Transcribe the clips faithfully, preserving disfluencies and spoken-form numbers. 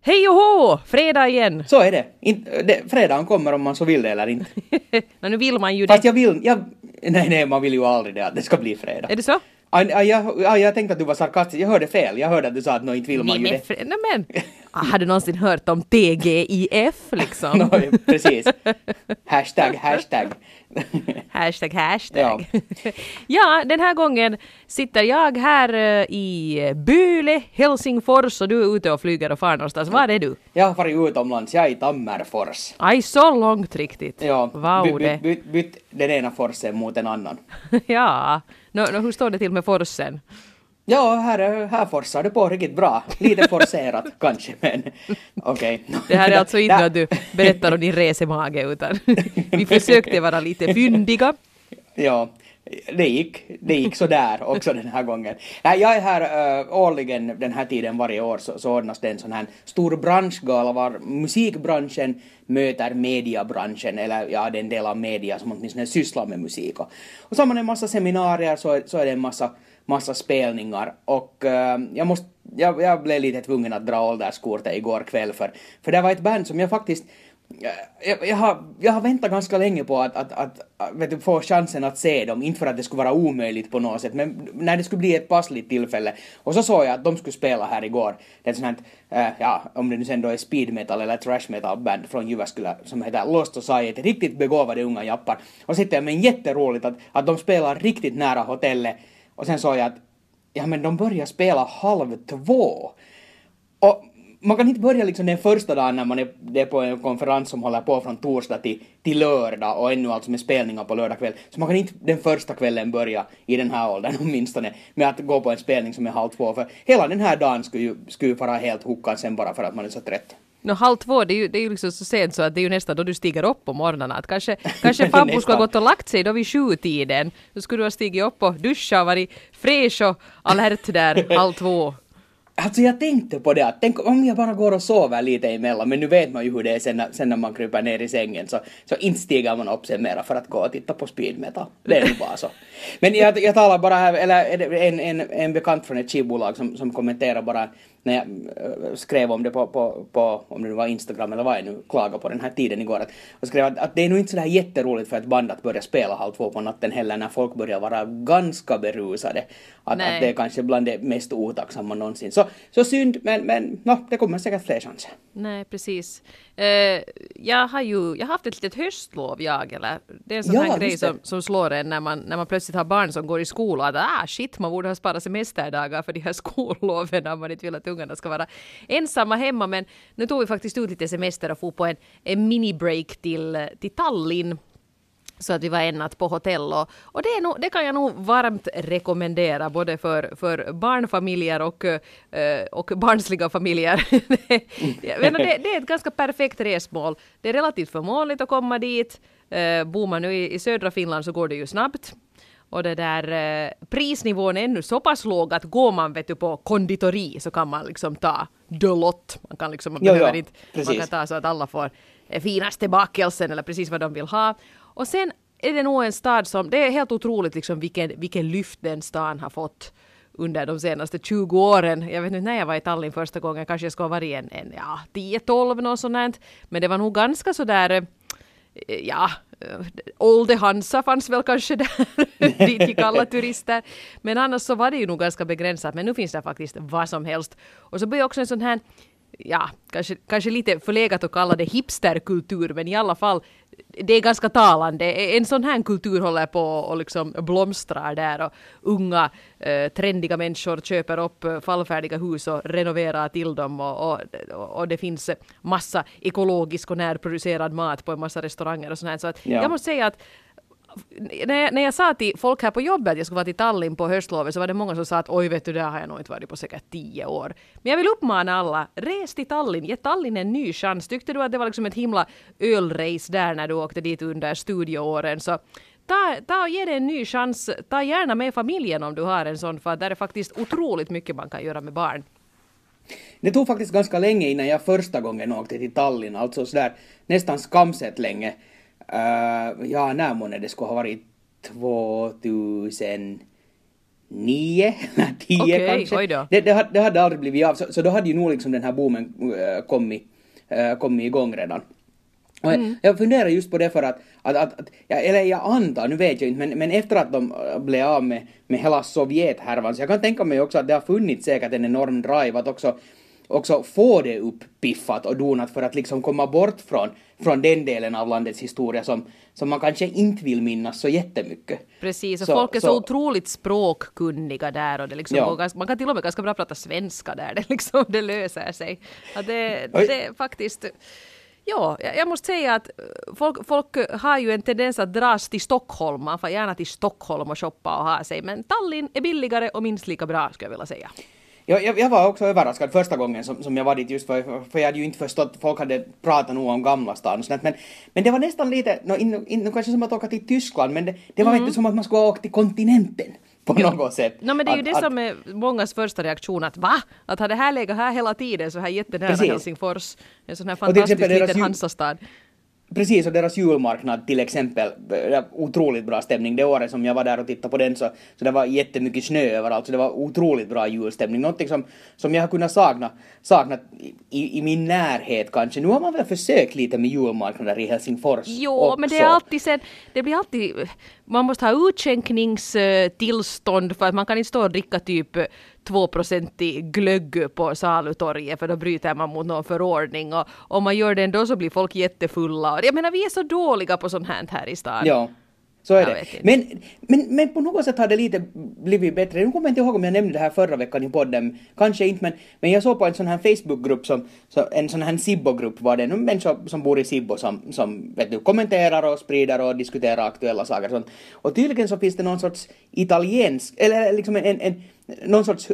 Hej och hå! Fredag igen! Så är det. In, det fredagen kommer om man så vill det eller inte. no, nu vill man ju det. Fast jag vill... Jag, nej, nej, man vill ju aldrig det att det ska bli fredag. Är det så? Ja, ja, jag, ja, jag tänkte att du var sarkastisk. Jag hörde fel. Jag hörde att du sa att nå inte vill man ju det. Fre- nej, men... ah, har du någonsin hört om T G I F liksom? no, precis. Hashtag, hashtag. hashtag, hashtag. Ja. ja, den här gången sitter jag här uh, i Byle, Helsingfors och du är ute och flyger och far någonstans. Var är du? Jag har varit utomlands. Jag är i Tammerfors. Aj, så långt riktigt. Ja, wow, byt, det. byt, byt, byt den ena forsen mot en annan. ja, no, no, hur står det till med forsen? Ja, här, här forsar det på riktigt bra. Lite forcerat kanske, men okej. Okay. Det här är alltså inte att du berättar om din resemage, utan vi försökte vara lite fyndiga. Ja, det gick, det gick så där också den här gången. Nej, jag är här uh, årligen den här tiden varje år så, så ordnas det en sån här stor branschgala var musikbranschen möter mediabranschen, eller ja, det är en del av media som åtminstone sysslar med musik. Och, och så har man en massa seminarier så, så är det en massa massa spelningar och uh, jag måste jag, jag blev lite tvungen att dra ålderskortet igår kväll för för det var ett band som jag faktiskt jag, jag har jag har väntat ganska länge på att att att vet du, få chansen att se dem, inte för att det skulle vara omöjligt på något sätt, men när det skulle bli ett passligt tillfälle. Och så såg jag att de skulle spela här igår. Det är ett sånt här, uh, ja, om det nu sen då är speed metal eller trash metal band från Jyväskylä som heter Lost Society, riktigt begåvade unga jappar. Och sitter jag men jätteroligt att att de spelar riktigt nära hotellet. Och sen sa jag att ja, men de börjar spela halv två. Och man kan inte börja liksom den första dagen när man är, det är på en konferens som håller på från torsdag till, till lördag och ännu alltså med spelningar på lördag kväll. Så man kan inte den första kvällen börja i den här åldern åtminstone med att gå på en spelning som är halv två. För hela den här dagen skulle ju, skulle ju vara helt huckad sen bara för att man är så trött. No, halv två, det är, ju, det är ju liksom så sent så att det är ju nästan då du stiger upp på morgonen. Att kanske kanske Fabbo skulle ha gått och lagt sig då vid sjutiden. Då skulle du ha stigit upp och duscha och varit fräsch och alert där halv två. Alltså jag tänkte på det att tänk om jag bara går och sover lite emellan, men nu vet man ju hur det är sen när, sen när man kryper ner i sängen så, så inte stiger man upp sen mera för att gå och titta på speed metal. Det är ju bara så. Men jag, jag talar bara här, eller en, en, en bekant från ett skivbolag som, som kommenterar bara när jag äh, skrev om det på, på, på om det nu var Instagram eller vad jag nu klagade på den här tiden igår att, och skrev att, att det är nog inte så där jätteroligt för ett band att börja spela halv två på natten heller när folk börjar vara ganska berusade. Att, att det är kanske bland det mest otacksamma någonsin. Så, så synd, men, men no, det kommer säkert fler chanser. Nej, precis. Uh, jag har ju jag har haft ett litet höstlov, jag, eller det är en sån ja, här grej som, som slår en när man, när man plötsligt har barn som går i skola. Att ah, shit, man borde ha sparat semesterdagar för de här skolloven när man inte vill att ungarna ska vara ensamma hemma. Men nu tog vi faktiskt ut lite semester och få på en, en mini-break till, till Tallinn. Så att vi var en natt på hotell och, och det, är nog, det kan jag nog varmt rekommendera både för, för barnfamiljer och, uh, och barnsliga familjer. det, det, det är ett ganska perfekt resmål. Det är relativt förmånligt att komma dit. Uh, bor man nu i, i södra Finland så går det ju snabbt. Och det där uh, prisnivån är ännu så pass låg att går man vet du, på konditori så kan man liksom ta delott. Man kan liksom, man jo, behöver jo, inte, precis. man kan ta så att alla får eh, finaste bakelsen eller precis vad de vill ha. Och sen är det nog en stad som, det är helt otroligt liksom vilken, vilken lyft den stan har fått under de senaste tjugo åren. Jag vet inte när jag var i Tallinn första gången, kanske jag skulle ha varit en, en ja, tio tolv något sånt. Men det var nog ganska sådär, ja, Olde Hansa fanns väl kanske där, dit gick alla turister. Men annars så var det ju nog ganska begränsat, men nu finns det faktiskt vad som helst. Och så blir också en sån här, ja, kanske, kanske lite förlegat att kalla det hipsterkultur, men i alla fall, det är ganska talande. En sån här kultur håller på och liksom blomstrar där och unga eh, trendiga människor köper upp fallfärdiga hus och renoverar till dem och, och, och det finns massa ekologisk och närproducerad mat på en massa restauranger och sånt här. Så att ja. Jag måste säga att när jag, när jag sa till folk här på jobbet att jag skulle vara till Tallinn på höstlovet så var det många som sa att oj vet du, där har jag nog inte varit på säkert tio år. Men jag vill uppmana alla, res till Tallinn, ge Tallinn en ny chans. Tyckte du att det var liksom ett himla ölrace där när du åkte dit under studieåren så ta, ta och ge det en ny chans. Ta gärna med familjen om du har en sån, för där är faktiskt otroligt mycket man kan göra med barn. Det tog faktiskt ganska länge innan jag första gången åkte till Tallinn, alltså sådär nästan skamset länge. Uh, ja, när månne det skulle ha varit tvåtusennio nio, tio Okej, kanske. oj då. Det, det, hade, det hade aldrig blivit av, så, så då hade ju nog liksom den här boomen äh, kommit, äh, kommit igång redan. Och mm. jag funderar just på det för att, att, att, att ja, eller jag antar, nu vet jag inte, men, men efter att de blev av med, med hela Sovjet-härvan, så jag kan tänka mig också att det har funnits säkert en enorm drive att också, också få det upppiffat och donat för att liksom komma bort från, från den delen av landets historia som, som man kanske inte vill minnas så jättemycket. Precis, och så, folk är så, så otroligt språkkunniga där och det liksom ja. går, man kan till och med ganska bra prata svenska där, det, liksom, det löser sig. Ja, det, det är faktiskt... Ja, jag måste säga att folk, folk har ju en tendens att dras till Stockholm. Man får gärna till Stockholm och shoppa och ha sig. Men Tallinn är billigare och minst lika bra, skulle jag vilja säga. Jag, jag, jag var också överraskad första gången som, som jag var dit just för, för jag hade ju inte förstått, folk hade pratat nog om Gamla stan och sånt, men, men det var nästan lite, no, in, in, kanske som att åka till Tyskland, men det, det var mm. inte som att man skulle åka till kontinenten. På något sätt. No, men det är ju att, det att, som är mångas första reaktion, att va? Att ha det här legat här hela tiden så här jättenära precis. Helsingfors. En sån här fantastisk liten Hansastad. Precis, och deras julmarknad till exempel, otroligt bra stämning. Det året som jag var där och tittade på den så, så det var jättemycket snö överallt, så det var otroligt bra julstämning. Någonting som, som jag har kunnat sakna, sakna i, i min närhet kanske. Nu har man väl försökt lite med julmarknader i Helsingfors. Jo, också. Men det är alltid sen, det blir alltid, man måste ha utskänkningstillstånd för att man kan inte stå och dricka typ två procent i glögg på salutorget för då bryter man mot någon förordning och om man gör det ändå så blir folk jättefulla. Jag menar, vi är så dåliga på sånt här här i stan. Ja, så är jag det. Men, men, men på något sätt har det lite blivit bättre. Nu kommer jag inte ihåg om jag nämnde det här förra veckan i podden. Kanske inte, men, men jag såg på en sån här Facebookgrupp, som, så, en sån här Sibbo-grupp var det. En människa som bor i Sibbo som, som vet du, kommenterar och sprider och diskuterar aktuella saker. Och, sånt. Och tydligen så finns det någon sorts italiensk, eller liksom en, en, en någon sorts,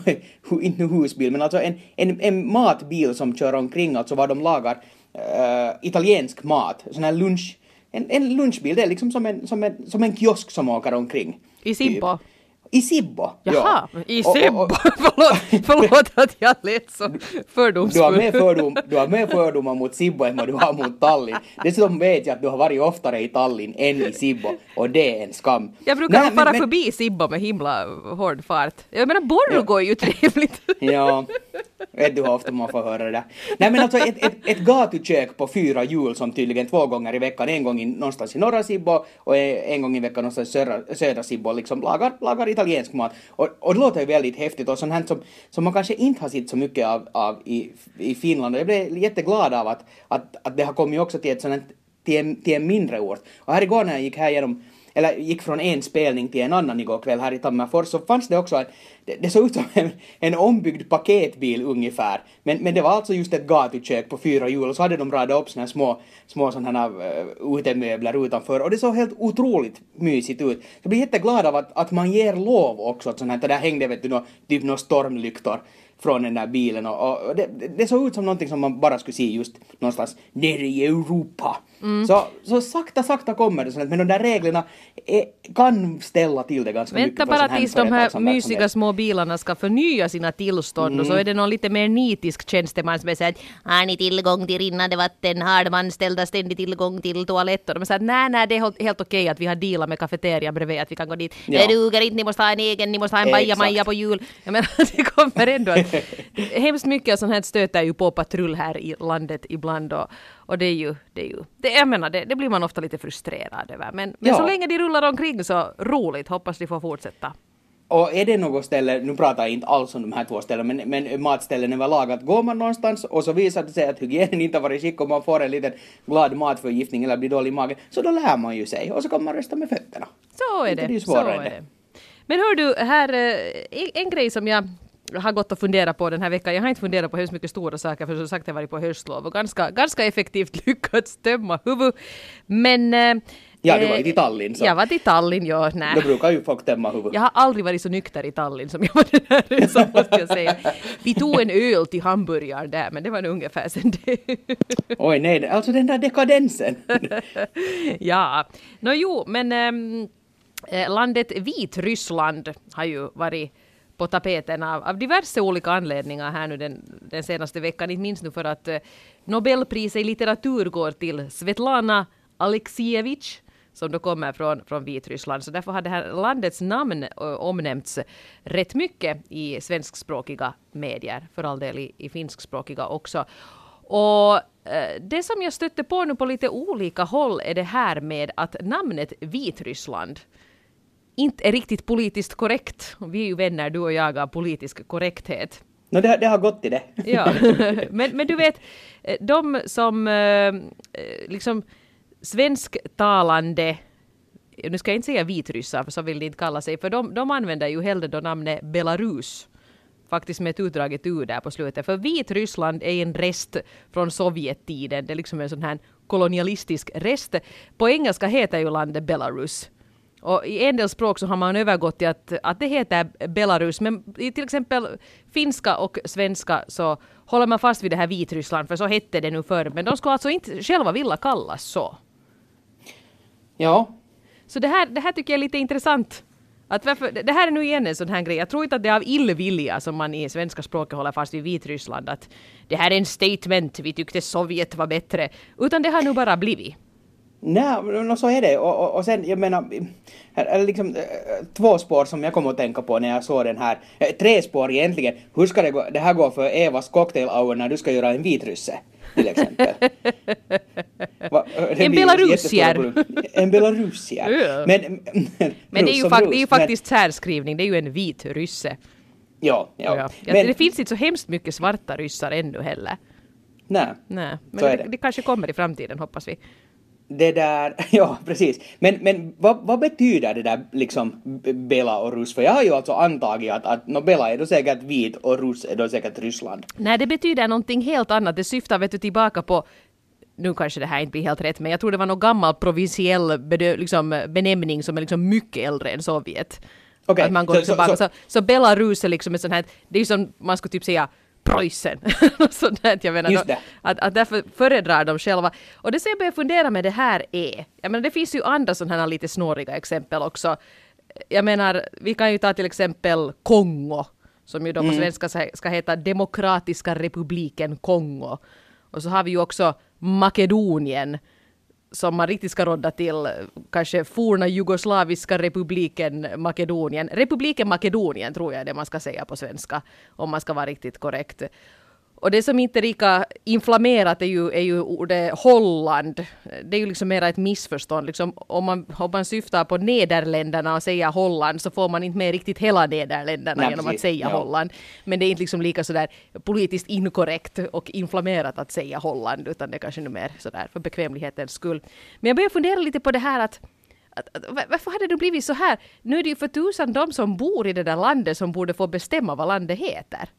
inte husbil, men alltså en, en, en matbil som kör omkring, alltså vad de lagar uh, italiensk mat. Sån här lunch, en, en lunchbil, det är liksom som en, som, en, som en kiosk som åker omkring. I Sibbo? I Sibbo, Jaha, ja. I Sibbo. Och, och, förlåt, förlåt att jag lät så fördomsfull. Du har mer fördom, du har mer fördomar mot Sibbo än vad du har mot Tallinn. Dessutom vet jag att du har varit oftare i Tallinn än i Sibbo, och det är en skam. Jag brukar Nej, fara men, förbi Sibbo med himla hård fart. Jag menar, Borgå ja. är ju trevligt. Ja, vet du hur ofta man får höra det där. Nej, men alltså ett, ett, ett gatukök på fyra jul som tydligen två gånger i veckan, en gång i, någonstans i norra Sibbo och en gång i veckan någonstans i södra, södra Sibbo, liksom lagar, lagar italiensk mat. Och, och det låter ju väldigt häftigt och sånt här som, som man kanske inte har sett så mycket av, av i, i Finland. Och jag blev jätteglad av att, att, att det har kommit också till, ett sånt, till, en, till en mindre ort. Och här igår när jag gick här genom, eller gick från en spelning till en annan igår kväll här i Tammerfors, så fanns det också en, det, det såg ut som en, en ombyggd paketbil ungefär. Men, men det var alltså just ett gatukök på fyra hjul, och så hade de radat upp såna här små, små sådana här uh, utemöbler utanför, och det såg helt otroligt mysigt ut. Jag blir jätteglad av att, att man ger lov också åt sånt här, där hängde vet du nå, typ några stormlyktor från den där bilen, och, och det, det såg ut som någonting som man bara skulle se just någonstans nere i Europa. Mm. Så, så sakta, sakta kommer det sånt, men de där reglerna är, kan ställa till det ganska Vänta mycket. Vänta bara tills de här mysiga små bilarna ska förnya sina tillstånd, mm. och så är det någon lite mer nitisk tjänsteman som säger att har ni tillgång till rinnande vatten, har de anställda ständig tillgång till toaletter? De säger att nej, nej, det är helt, helt okej att vi har dealat med kafeterian bredvid, att vi kan gå dit. Ja. Det duger inte, ni måste ha en egen, ni måste ha en bajamaja på jul. Jag menar, det kommer ändå att hemskt mycket sånt här stöter ju på patrull här i landet ibland, och, och det är ju, det är ju det, jag menar, det, det blir man ofta lite frustrerad över, men, men ja. så länge de rullar omkring så roligt, hoppas de får fortsätta. Och är det något ställe, nu pratar jag inte alls om de här två ställen, men, men matställen överlag, att går man någonstans och så visar det sig att hygienen inte har varit skick och man får en liten glad matförgiftning eller blir dålig i magen, så då lär man ju sig och så kan man rösta med fötterna. Så är det, det är så är det. Men hör du, här, en grej som jag har gått och funderat på den här veckan. Jag har inte funderat på hur mycket stora saker, för som sagt jag har varit på höstlov och ganska, ganska effektivt lyckats tömma huvud. Men ja, du var i Tallinn. Så. Jag var i Tallinn, ja. Nej. Då brukar ju folk tömma huvud. Jag har aldrig varit så nykter i Tallinn som jag var den här resan, måste jag säga. Vi tog en öl till hamburgaren där, men det var nog ungefär sen det. Oj nej, alltså den där dekadensen. Ja, nå jo, men ähm, landet Vitryssland har ju varit på tapeten av, av diverse olika anledningar här nu den, den senaste veckan. Inte minst nu för att eh, Nobelpriset i litteratur går till Svetlana Alexievich, som då kommer från, från Vitryssland. Så därför har det här landets namn ö, omnämnts rätt mycket i svenskspråkiga medier, för all del i, i finskspråkiga också. Och eh, det som jag stötte på nu på lite olika håll är det här med att namnet Vitryssland inte är riktigt politiskt korrekt. Vi är ju vänner, du och jag, av politisk korrekthet. No, det, det har gått i det. Ja, men, men du vet, de som eh, liksom svensktalande, nu ska jag inte säga vitryssar, för så vill de inte kalla sig, för de, de använder ju hellre då namnet Belarus, faktiskt med ett utdraget ur där på slutet. För Vitryssland är en rest från Sovjettiden, det är liksom en sån här kolonialistisk rest. På engelska heter ju landet Belarus. Och i en del språk så har man övergått till att, att det heter Belarus. Men i till exempel finska och svenska så håller man fast vid det här Vitryssland. För så hette det nu förr. Men de ska alltså inte själva vilja kallas så. Ja. Så det här, det här tycker jag är lite intressant. Att varför, det här är nu igen en sån här grej. Jag tror inte att det är av illvilja som man i svenska språket håller fast vid Vitryssland. Att det här är en statement. Vi tyckte Sovjet var bättre. Utan det har nu bara blivit. Nej, no, så är det. Och, och, och sen, jag menar, här är liksom äh, två spår som jag kommer att tänka på när jag såg den här. Äh, tre spår egentligen. Hur ska det gå? Det här går för Evas cocktail hour när du ska göra en vitrysse, till exempel. Va, en belarusier. En belarusier. Ja. Men, men det är ju, fakt- det är ju faktiskt särskrivning. Det är ju en vit rysse. Ja, ja. ja. Men, det finns inte så hemskt mycket svarta ryssar ännu heller. Nej. Nej. Men så det, är det. det kanske kommer i framtiden, hoppas vi. Det där, ja precis. Men, men vad, vad betyder det där liksom Bela och Rus? För jag har ju alltså antagit att, att no, Bela är då säkert vit och Rus är då säkert Ryssland. Nej, det betyder någonting helt annat. Det syftar vet du tillbaka på, nu kanske det här inte blir helt rätt, men jag tror det var någon gammal provinsiell bedö- liksom, benämning som är liksom mycket äldre än Sovjet. Okay. Att man går så, liksom så, baka. så, Så, så Belarus är liksom ett sånt här, det är ju som man skulle typ säga Preussen. Sånt där, jag menar, då, att, att därför föredrar de själva. Och det som jag börjar fundera med det här är, jag menar det finns ju andra sådana här lite snåriga exempel också. Jag menar, vi kan ju ta till exempel Kongo, som ju då på mm. svenska ska heta Demokratiska republiken Kongo. Och så har vi ju också Makedonien, som man riktigt ska rodda till kanske forna jugoslaviska republiken Makedonien. Republiken Makedonien tror jag är det man ska säga på svenska, om man ska vara riktigt korrekt. Och det som inte är lika inflammerat är ju, är ju ordet Holland. Det är ju liksom mera ett missförstånd. Liksom, om, man, om man syftar på Nederländerna och säger Holland så får man inte med riktigt hela Nederländerna Nej, genom precis. Att säga ja. Holland. Men det är inte liksom lika sådär politiskt inkorrekt och inflammerat att säga Holland, utan det är kanske nu mer sådär för bekvämlighetens skull. Men jag börjar fundera lite på det här att Att, att, varför hade det blivit så här? Nu är det ju för tusan de som bor i det där landet som borde få bestämma vad landet heter.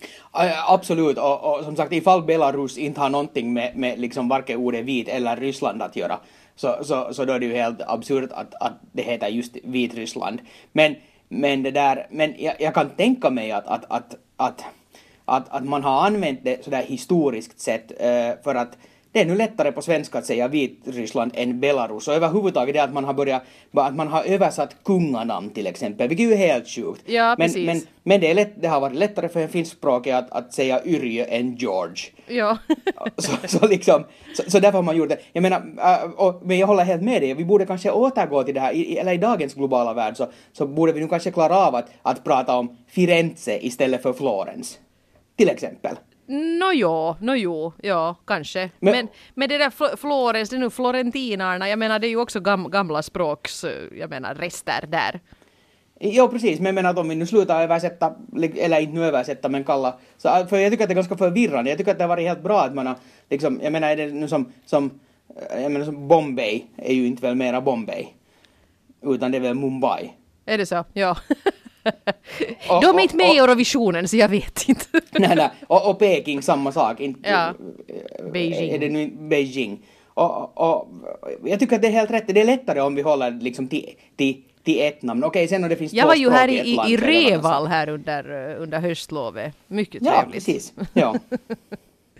Absolut, och, och som sagt ifall Belarus inte har någonting med, med liksom varken ordet vit eller Ryssland att göra så, så, så då är det ju helt absurt att, att det heter just Vitryssland. Men, men det där, men jag, jag kan tänka mig att, att, att, att, att, att man har använt det sådär historiskt sett uh, för att det är nu lättare på svenska att säga Vitryssland än Belarus. Och överhuvudtaget det att man har börjat, att man har översatt kunganamn till exempel, vilket är ju helt sjukt. Ja, men, precis. men, men det, är lätt, det har varit lättare för en finskspråkig att, att säga Yrjö än George. Ja. så, så, liksom, så, så därför har man gjort det. Jag menar, äh, och, men jag håller helt med dig. Vi borde kanske återgå till det här, i, eller i dagens globala värld så, så borde vi nu kanske klara av att, att prata om Firenze istället för Florens. Till exempel. No jo, no jo, ja, kanske. Men, men, men det där Fl- Florens, det är nu florentinarna, jag menar det är ju också gam, gamla språks, jag menar rester där. Jo, precis, men jag menar att om vi nu slutar översätta, eller inte nu översätta, men kalla, så, för jag tycker att det är ganska förvirrande. Jag tycker att det har varit helt bra att man har, liksom, jag menar är det nu som, som, jag menar som Bombay är ju inte väl mera Bombay, utan det är väl Mumbai. Är det så? Ja. Och, de är inte med och, och, i Eurovisionen så jag vet inte. nej, nej. Och, och Peking samma sak. Inte, ja. Beijing. Är det nu Beijing. Och, och, jag tycker att det är helt rätt. Det är lättare om vi håller liksom till, till, till ett namn. Okej, sen när det finns jag två var ju här i, i, i Reval här under, under höstlovet. Mycket ja, trevligt. Precis. Ja,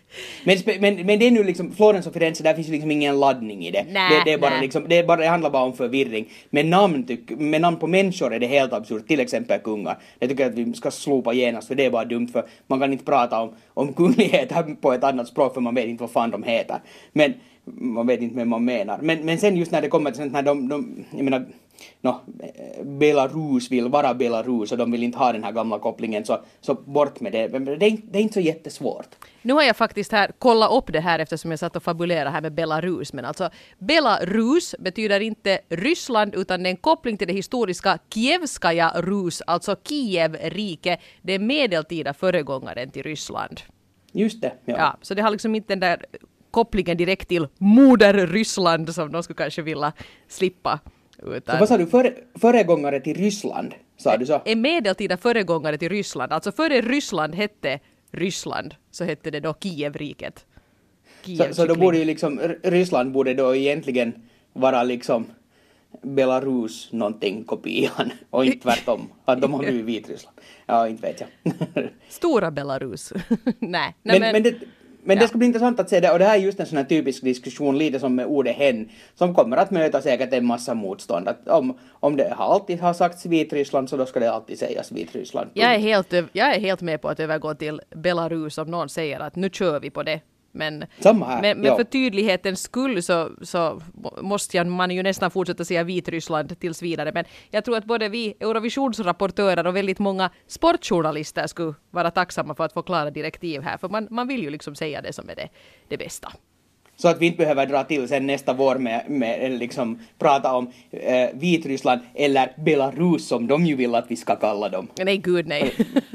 Men, men, men det är nu liksom, Florens och Firenze, där finns ju liksom ingen laddning i det. Nä, det, det, är bara nä. liksom, det, är bara, det handlar bara om förvirring. Men namn, tyck, med namn på människor är det helt absurt, till exempel kungar. Jag tycker att vi ska slopa genast, för det är bara dumt, för man kan inte prata om, om kungligheter på ett annat språk, för man vet inte vad fan de heter. Men man vet inte vad man menar. Men, men sen just när det kommer till sånt här, de, de, jag menar, no, Belarus vill vara Belarus och de vill inte ha den här gamla kopplingen, så, så bort med det. Men det är, det är inte så jättesvårt. Nu har jag faktiskt här kollat upp det här eftersom jag satt och fabulerade här med Belarus. Men alltså Belarus betyder inte Ryssland utan det är en koppling till det historiska Kievskaja Rus, alltså Kiev-rike. Det är medeltida föregångaren till Ryssland. Just det, ja. Ja, så det har liksom inte den där kopplingen direkt till moder Ryssland som de skulle kanske vilja slippa. Utan Så vad sa du, före, föregångare till Ryssland, sa du så? är medeltida föregångare till Ryssland. Alltså före Ryssland hette Ryssland så hette det då Kievriket. Så, så då borde ju liksom, Ryssland borde då egentligen vara liksom Belarus någonting kopian och inte tvärtom. Att de har blivit Vitryssland. Ja, inte vet jag. Stora Belarus. Nej. Men, men, men det, men ja. det ska bli intressant att se det, och det här är just en sån här typisk diskussion, lite som med ordet hen, som kommer att möta säkert en massa motstånd. Att om, om det har alltid har sagts Vitryssland, så då ska det alltid sägas Vitryssland. Jag är, helt, jag är helt med på att övergå till Belarus om någon säger att nu kör vi på det. Men, Samma här, men, men ja. för tydlighetens skull så, så måste jag, man ju nästan fortsätta säga Vitryssland tills vidare. Men jag tror att både vi Eurovisionsrapportörer och väldigt många sportjournalister skulle vara tacksamma för att få klara direktiv här. För man, man vill ju liksom säga det som är det, det bästa. Så att vi inte behöver dra till sen nästa vår med, med liksom prata om eh, Vitryssland eller Belarus som de ju vill att vi ska kalla dem. Nej, gud nej.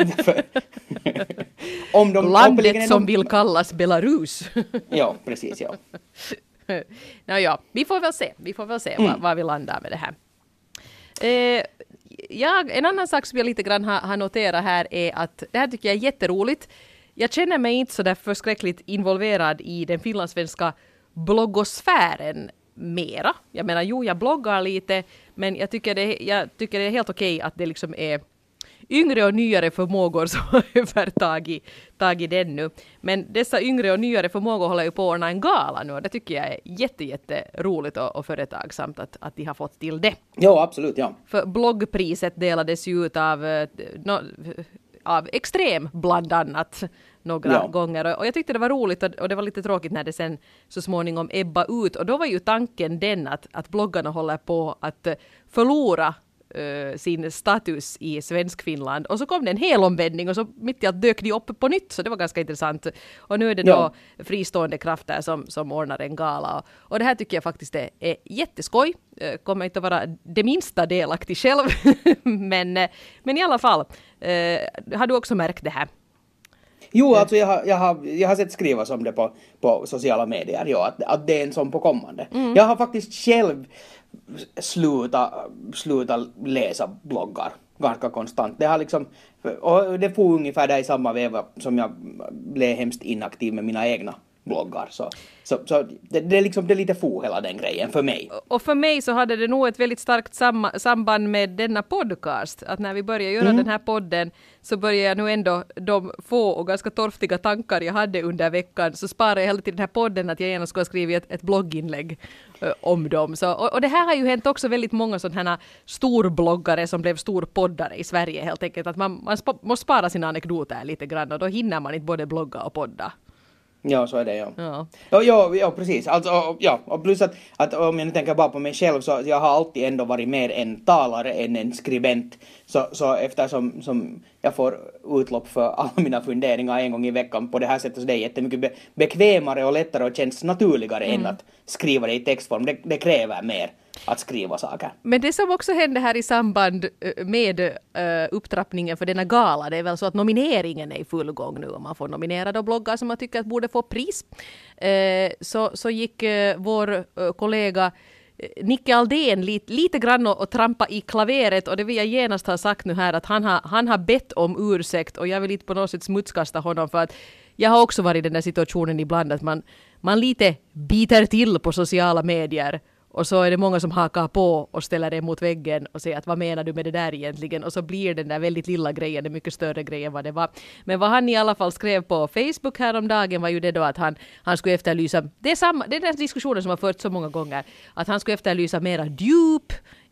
om de, Landet som de, vill kallas Belarus. Ja, precis, ja. no, ja, vi får väl se. Vi får väl se Mm. var, var vi landar med det här. Eh, ja, en annan sak som jag lite grann har, har noterat här är att det här tycker jag är jätteroligt. Jag känner mig inte så där förskräckligt involverad i den finlandssvenska bloggosfären mera. Jag menar, jo, jag bloggar lite, men jag tycker det, jag tycker det är helt okej att det liksom är yngre och nyare förmågor som har övertagit tagit den nu. Men dessa yngre och nyare förmågor håller ju på att ordna en gala nu, och det tycker jag är jätte, jätte roligt och, och företagsamt att, att de har fått till det. Jo, absolut, ja. För bloggpriset delades ju ut av, eh, no, av Extrem bland annat några Ja. gånger. Och jag tyckte det var roligt, och, och det var lite tråkigt när det sen så småningom ebba ut. Och då var ju tanken den att, att bloggarna håller på att eh, förlora Uh, sin status i Svenskfinland. Och så kom det en hel omvändning och så mitt i allt dök de upp på nytt, så det var ganska intressant. Och nu är det då Ja. fristående krafter som, som ordnar en gala. Och, och det här tycker jag faktiskt är, är jätteskoj. Uh, kommer inte att vara det minsta delaktig själv. men, uh, men i alla fall, uh, har du också märkt det här? Jo, alltså jag har, jag har, jag har sett skrivas om det på, på sociala medier, ja, att, att det är en sån på kommande. Mm. Jag har faktiskt själv slutat sluta läsa bloggar ganska konstant. Det har liksom, och det får ungefär där i samma veva som jag blev hemskt inaktiv med mina egna bloggar. Så, så, så det, det är liksom det är lite få hela den grejen för mig. Och för mig så hade det nog ett väldigt starkt sam- samband med denna podcast. Att när vi började göra Mm. den här podden så började jag nu ändå de få och ganska torftiga tankar jag hade under veckan, så sparade jag hela tiden den här podden att jag gärna skulle ha skrivit ett, ett blogginlägg uh, om dem. Så, och, och det här har ju hänt också väldigt många sådana här storbloggare som blev storpoddare i Sverige helt enkelt. Att man, man sp- måste spara sina anekdoter lite grann, och då hinner man inte både blogga och podda. Ja, så är det, ja. Ja. Ja, ja, ja precis. Alltså, och, ja, och plus att, att om jag nu tänker bara på mig själv, så jag har alltid ändå varit mer en talare än en skribent. Så, så eftersom som jag får utlopp för alla mina funderingar en gång i veckan på det här sättet, så det är jättemycket be- bekvämare och lättare och känns naturligare mm. än att skriva det i textform. Det, det kräver mer att skriva saker. Men det som också hände här i samband med uh, upptrappningen för denna gala, det är väl så att nomineringen är i full gång nu, och man får nominera då bloggar som man tycker att borde få pris. Uh, så, så gick uh, vår uh, kollega Nicke Aldén lite, lite grann och, och trampa i klaveret, och det vill jag genast ha sagt nu här att han har, han har bett om ursäkt, och jag vill inte på något sätt smutskasta honom, för att jag har också varit i den där situationen ibland att man, man lite biter till på sociala medier Och så är det många som hakar på och ställer det mot väggen och säger att vad menar du med det där egentligen? Och så blir den där väldigt lilla grejen en mycket större grej än vad det var. Men vad han i alla fall skrev på Facebook häromdagen var ju det då att han, han skulle efterlysa, det är, samma, det är den diskussionen som har förts så många gånger, att han skulle efterlysa mera djup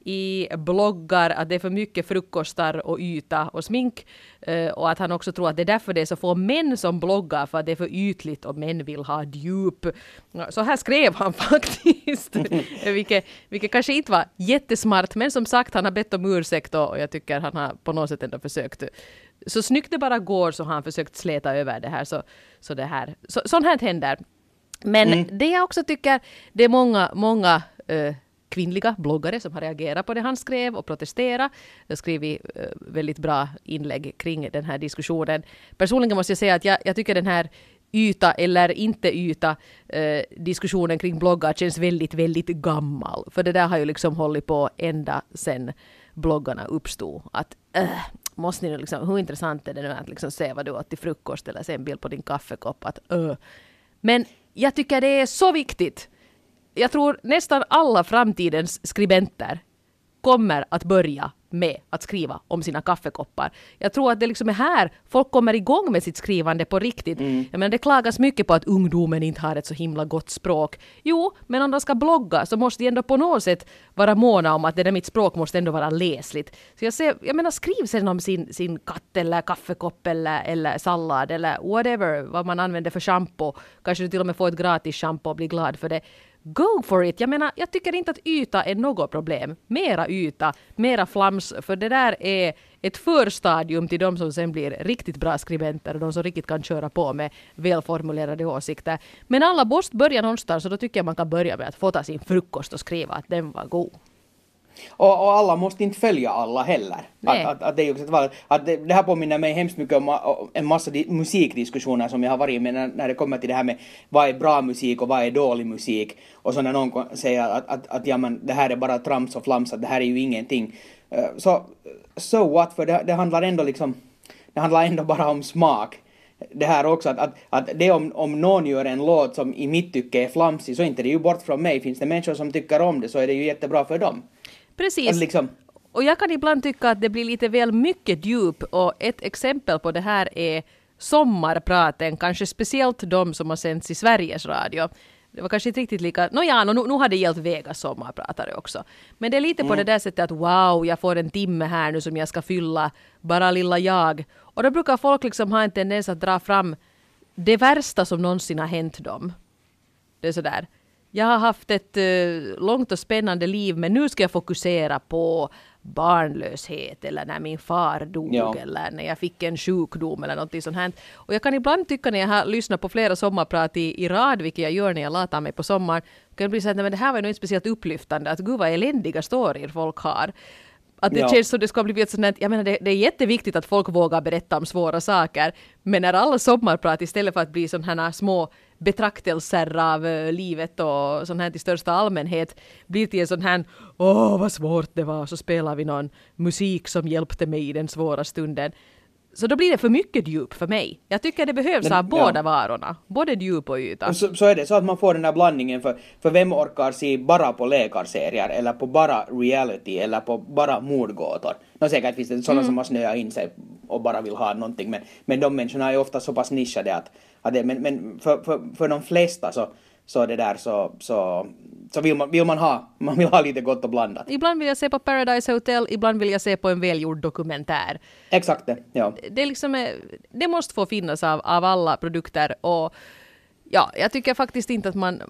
i bloggar, att det är för mycket frukostar och yta och smink, uh, och att han också tror att det är därför det är så få män som bloggar, för att det är för ytligt och män vill ha djup. Så här skrev han faktiskt, vilket, vilket kanske inte var jättesmart, men som sagt, han har bett om ursäkt och jag tycker han har på något sätt ändå försökt. Så snyggt det bara går så har han försökt släta över det här, så, så det här, så, sånt här händer. Men mm. det jag också tycker, det är många, många uh, kvinnliga bloggare som har reagerat på det han skrev och protesterat. Jag skrev uh, väldigt bra inlägg kring den här diskussionen. Personligen måste jag säga att jag, jag tycker den här yta eller inte yta uh, diskussionen kring bloggar känns väldigt, väldigt gammal. För det där har ju liksom hållit på ända sedan bloggarna uppstod. Att uh, måste ni liksom, hur intressant är det nu att liksom se vad du åt till frukost eller se en bild på din kaffekopp. Att, uh. Men jag tycker det är så viktigt. Jag tror nästan alla framtidens skribenter kommer att börja med att skriva om sina kaffekoppar. Jag tror att det liksom är här folk kommer igång med sitt skrivande på riktigt. Mm. Jag menar, det klagas mycket på att ungdomen inte har ett så himla gott språk. Jo, men om de ska blogga så måste de ändå på något sätt vara måna om att det där mitt språk måste ändå vara läsligt. Så jag, ser, jag menar, skriv sen om sin, sin katt eller kaffekopp eller, eller sallad eller whatever, vad man använder för shampoo. Kanske du till och med får ett gratis shampoo och blir glad för det. Go for it! Jag menar, jag tycker inte att yta är något problem. Mera yta, mera flams, för det där är ett förstadium till de som sen blir riktigt bra skribenter och de som riktigt kan köra på med välformulerade åsikter. Men alla måste börja någonstans, så då tycker jag man kan börja med att få ta sin frukost och skriva att den var god. Och, och alla måste inte följa alla heller. Att, att, att det, är också ett val, att det, det här påminner mig hemskt mycket om en massa di- musikdiskussioner som jag har varit med när, när det kommer till det här med vad är bra musik och vad är dålig musik. Och så när någon säger att, att, att ja, men, det här är bara trams och flams, att det här är ju ingenting. Så so what, för det, det handlar ändå liksom, det handlar ändå bara om smak. Det här också, att, att, att det om, om någon gör en låt som i mitt tycke är flamsig, så är inte det ju bort från mig. Finns det människor som tycker om det, så är det ju jättebra för dem. Precis. Alltså liksom. Och jag kan ibland tycka att det blir lite väl mycket djup, och ett exempel på det här är sommarpraten, kanske speciellt de som har sänts i Sveriges Radio. Det var kanske inte riktigt lika, no ja, no, nu har det gällt Vegas sommarpratare också. Men det är lite mm. på det där sättet att wow, jag får en timme här nu som jag ska fylla, bara lilla jag. Och då brukar folk liksom ha en tendens att dra fram det värsta som någonsin har hänt dem. Det är sådär. Jag har haft ett uh, långt och spännande liv, men nu ska jag fokusera på barnlöshet eller när min far dog ja. eller när jag fick en sjukdom eller något sånt här. Och jag kan ibland tycka när jag har lyssnat på flera sommarprat i, i rad, vilket jag gör när jag latar mig på sommaren, kan det bli så att men det här var ju inte speciellt upplyftande, att gud vad eländiga storyer folk har. Att det ja. känns som det ska bli ett sånt här, jag menar det, det är jätteviktigt att folk vågar berätta om svåra saker, men när alla sommarprat istället för att bli sådana här små betraktelser av uh, livet och sånt här i största allmänhet blir till en sån här, åh vad svårt det var, så spelar vi någon musik som hjälpte mig i den svåra stunden. Så då blir det för mycket djup för mig. Jag tycker det behövs av båda ja. varorna. Både djup och yta. Så, så är det, så att man får den där blandningen. För, för vem orkar se bara på läkarserier, eller på bara reality, eller på bara mordgåtor. Nå säkert finns det sådana mm. som har snöat in sig och bara vill ha någonting. Men, men de människorna är ofta så pass nischade att, att det, men, men för, för, för de flesta så, så det där så... så Så vill man, vill man ha, man vill ha lite gott och blandat. Ibland vill jag se på Paradise Hotel, ibland vill jag se på en välgjord dokumentär. Exakt det, ja. Det, är liksom, det måste få finnas av, av alla produkter, och ja, jag tycker faktiskt inte att man...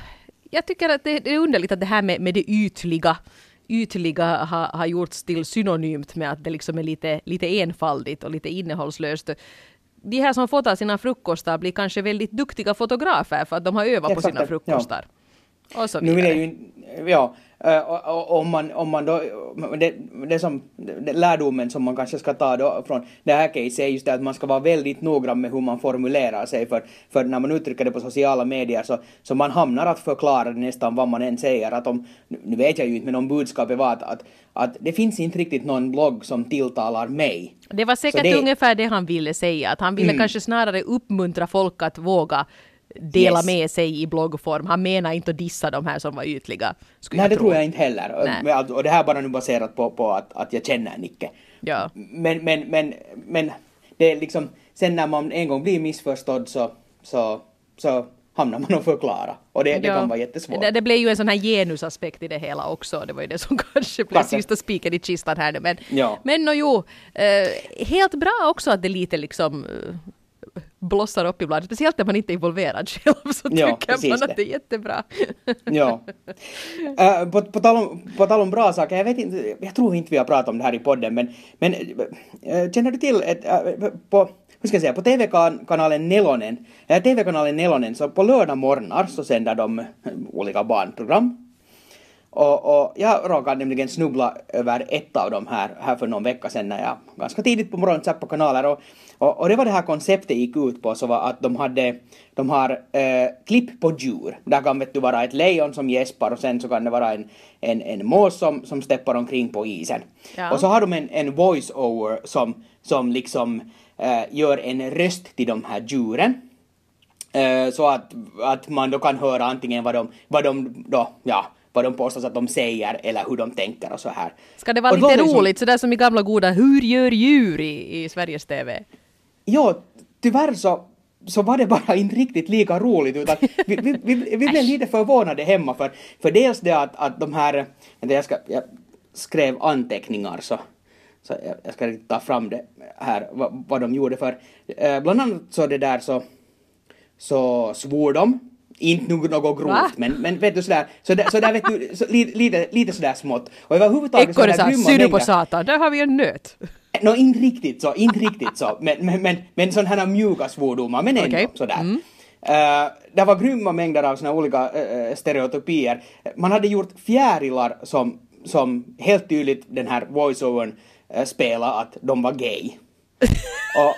Jag tycker att det, det är underligt att det här med, med det ytliga, ytliga har, har gjorts till synonymt med att det liksom är lite, lite enfaldigt och lite innehållslöst. De här som fotar sina frukostar blir kanske väldigt duktiga fotografer för att de har övat Exakt på sina frukostar. Ja. Och så nu vill jag ju, ja, om man, om man då, det, det som, det lärdomen som man kanske ska ta då från det här case är just det att man ska vara väldigt noggrann med hur man formulerar sig, för, för när man uttrycker det på sociala medier så, så man hamnar att förklara nästan vad man än säger, att om, nu vet jag ju inte, men om budskapet var att, att, att det finns inte riktigt någon blogg som tilltalar mig. Det var säkert det, ungefär det han ville säga, att han ville mm. kanske snarare uppmuntra folk att våga dela Yes. med sig i bloggform. Han menar inte att dissa de här som var ytliga. Nej, det tror jag inte heller. Nej. Men att- Och det här är bara nu baserat på, på att, att jag känner Nicke. Ja. Men, men, men, men det är liksom, sen när man en gång blir missförstådd så, så, så hamnar man och förklara. Och det, det Ja. kan vara jättesvårt. Det, det blev ju en sån här genusaspekt i det hela också. Det var ju det som kanske blev Kanske. sista spiken i kistan här nu. Men, Ja. men no, jo, eh, helt bra också att det lite liksom eh, blossar upp ibland. Speciellt när man inte är involverad själv så Ja, tycker precis man det. att det är jättebra. Ja. Uh, på, på, tal om, på tal om bra saker, jag vet inte, jag tror inte vi har pratat om det här i podden, men, men uh, känner du till ett, uh, på, hur ska jag säga, på T V-kanalen Nelonen, uh, T V-kanalen Nelonen, så på lördag morgnar så sänder de uh, olika barnprogram. Och, och jag råkade nämligen snubbla över ett av dem här, här för någon vecka sedan när jag ganska tidigt på morgonen satt på kanaler. Och, och, och det var det här konceptet gick ut på, så var att de hade, de har eh, klipp på djur. Där kan vet du vara ett lejon som gäspar och sen så kan det vara en, en, en mås som, som steppar omkring på isen. Ja. Och så har de en, en voice-over som, som liksom eh, gör en röst till de här djuren. Eh, så att, att man då kan höra antingen vad de, vad de då, ja, vad de påstås att de säger eller hur de tänker och så här. Ska det vara Och lite låter som- roligt, sådär som i gamla goda Hur gör djur i, i Sveriges T V? Ja, tyvärr så, så var det bara inte riktigt lika roligt utan vi, vi, vi, vi blev lite förvånade hemma för, för dels det att, att de här, vänta, jag, ska, jag skrev anteckningar så, så jag, jag ska ta fram det här vad, vad de gjorde för eh, bland annat så det där så, så svor de. Inte något, något grovt, Va? men, men vet du sådär, så där, så där vet du, så, lite, lite, lite sådär smått. Och överhuvudtaget Ekorre sa, grymma syr du på mängder- satan, där har vi en nöt. Nå, inte riktigt så, inte riktigt så, men, men, men, men sådana här mjuka svordomar, men ändå Okej. sådär. Mm. Uh, det var grymma mängder av såna olika uh, stereotypier. Man hade gjort fjärilar som, som helt tydligt den här voiceovern uh, spelade att de var gay. och,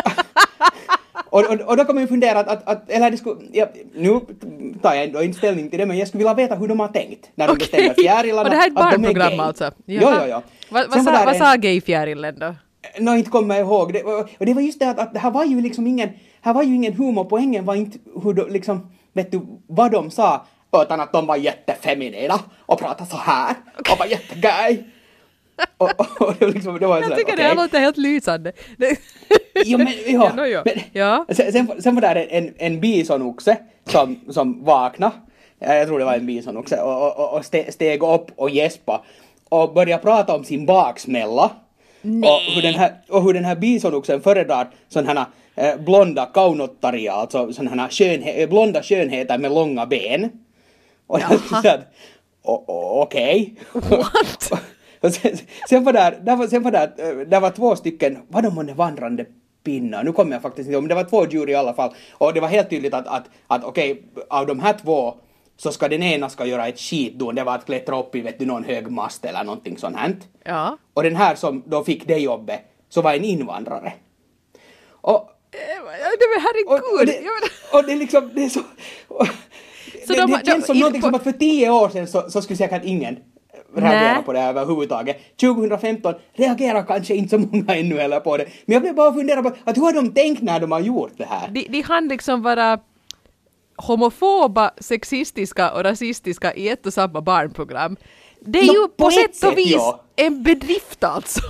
och, och, och då kan man ju fundera att, att, att eller det skulle, ja, nu tar jag ändå inte ställning till det, men jag skulle vilja veta hur de har tänkt när de Okej. bestämmer fjärilarna Och det här är ett att de är barnprogram gay. alltså? Jo, Jaha. jo, jo. Va, Sen vad var sa, där vad en- sa gayfjärilen då? Nå, inte kommer jag ihåg. Det, och det var just det att, att det här var ju liksom ingen, här var ju ingen humor. Poängen var inte hur de, liksom, vet du, vad de sa, utan att de var jättefeminina och pratade så här och var jättegay. och, och, och det var liksom, det var Jag sådär, tycker det okej. här låter helt lysande. Det- Jo, men, ja, Ja, nå, ja. men Ja. Sen, sen, sen var där en, en, en bisonoxe som, som vaknade. Jag tror det var en bisonoxe och, och, och ste, steg upp och gäspa och började prata om sin baksmälla. Och hur den här, och hur den här bisonoxen föredrar sådana här eh, blonda kaunottaria, alltså sådana här skönhe, blonda skönheter med långa ben. Och jag Jaha. så att, o- o- okej. What? Och sen, sen var där, där var, sen var där, eh, där var två stycken, vad de månne vandrande pinnar, nu kommer jag faktiskt inte ihåg, men det var två djur i alla fall. Och det var helt tydligt att, att, att okej, av de här två så ska den ena ska göra ett skitdon, det var att klättra upp i vet du, någon hög mast eller någonting sånt här. Ja. Och den här som då fick det jobbet så var en invandrare. Och, Eh, men och, herregud. och, det, och det är liksom, det är så... Och, Så det, de- det känns de- som i- någonting på- som att för tio år sedan så, så skulle säkert ingen reagera Nej. på det här överhuvudtaget. tjugohundrafemton reagerar kanske inte så många ännu heller på det. Men jag blev bara fundera på att hur har de tänkt när de har gjort det här? De, de hann liksom vara homofoba, sexistiska och rasistiska i ett och samma barnprogram. Det är Nå, ju på på ett sätt sätt, och vis ja. en bedrift alltså.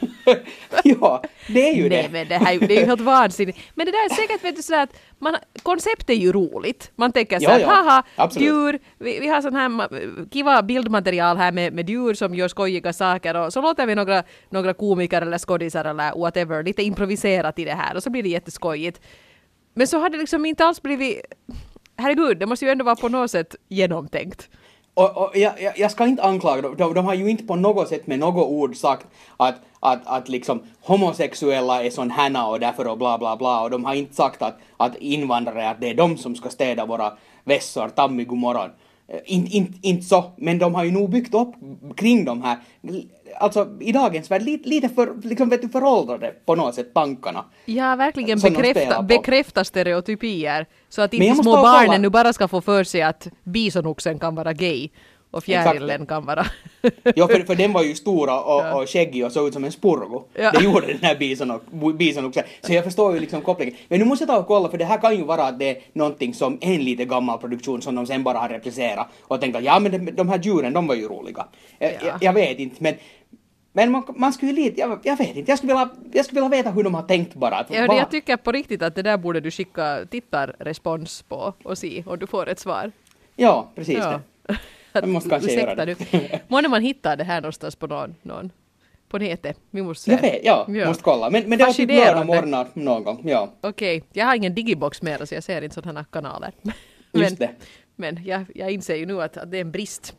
Ja, det är ju Nej det. men det här är ju- det är ju helt vansinnigt. Men det där är säkert vet du sådär att man, konceptet är ju roligt. Man tänker såhär, Ja, ja. haha, Absolut. djur, vi, vi har sån här ma- kiva bildmaterial här med, med djur som gör skojiga saker och så låter vi några, några komiker eller skådisar eller whatever lite improviserat i det här och så blir det jätteskojigt. Men så har det liksom inte alls blivit, herregud, det måste ju ändå vara på något sätt genomtänkt. Och, och jag, jag, jag ska inte anklaga dem, de, de har ju inte på något sätt med något ord sagt att, att, att liksom homosexuella är sån härna och därför och bla bla bla och de har inte sagt att, att invandrare, att det är de som ska städa våra vässor, tammi god morgon. Inte in, inte så, men de har ju nog byggt upp kring de här, alltså i dagens värld lite, lite för, liksom vet du, föråldrade på något sätt tankarna. Ja, verkligen Som de spelar bekräfta, på. bekräfta stereotypier. Så att Men inte jag måste små bara barnen kolla- nu bara ska få för sig att bisonoxen kan vara gay. och fjärilen kan vara. Ja, för, för den var ju stora och, ja. och skäggig och såg ut som en spurgo. Ja. Det gjorde den här bison, och, bison också. Så jag förstår ju liksom kopplingen. Men nu måste jag ta och kolla, för det här kan ju vara att det är någonting som en lite gammal produktion som de sen bara har replicerat och tänkt att ja, men de, de här djuren, de var ju roliga. Jag, ja. jag, jag vet inte, men Men man, man skulle lite, jag, jag vet inte, jag skulle, vilja, jag skulle vilja veta hur de har tänkt bara. Att, ja, jag tycker på riktigt att det där borde du skicka tittarrespons på och se och du får ett svar. Ja, precis ja. det. Man måste kanske göra det. Måste man hitta det här någonstans på någon, någon på nätet? Vi måste jag vet, ja, ja, måste kolla. Men, men det var typ lördag morgon någon gång, ja. Okej, okay. Jag har ingen digibox mer så jag ser inte sådana kanaler. Men, Just det. Men jag, jag inser ju nu att, att det är en brist.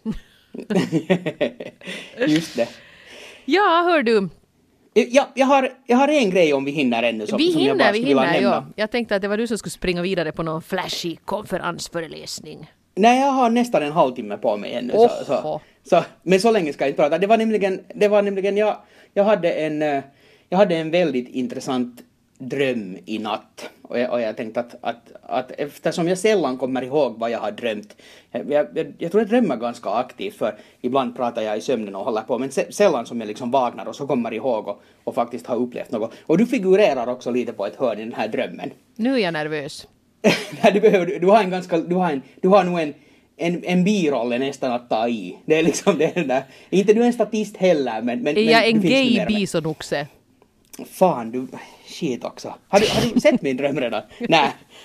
Just det. Ja, hör du. Ja, jag, har, jag har en grej om vi hinner ännu som, vi som hinner, jag bara vi skulle vilja hinner, nämna. Ja. Jag tänkte att det var du som skulle springa vidare på någon flashy konferensföreläsning. Nej, jag har nästan en halvtimme på mig ännu. Så, så, så, men så länge ska jag inte prata. Det var nämligen, det var nämligen jag, jag, hade en, jag hade en väldigt intressant dröm i natt. Och jag, och jag tänkte att, att, att eftersom jag sällan kommer ihåg vad jag har drömt. Jag, jag, jag tror jag drömmer ganska aktivt, för ibland pratar jag i sömnen och håller på. Men sällan som jag liksom vaknar och så kommer ihåg och, och faktiskt har upplevt något. Och du figurerar också lite på ett hörn i den här drömmen. Nu är jag nervös. Nej, du, behöver, du har en ganska, du har, en, du har nog en, en, en biroll nästan att ta i. Det är liksom det där. Inte du är en statist heller, men... men är jag men, en gay bisonoxe? Fan, du... Shit också. Har du, har du sett min dröm redan? Nej.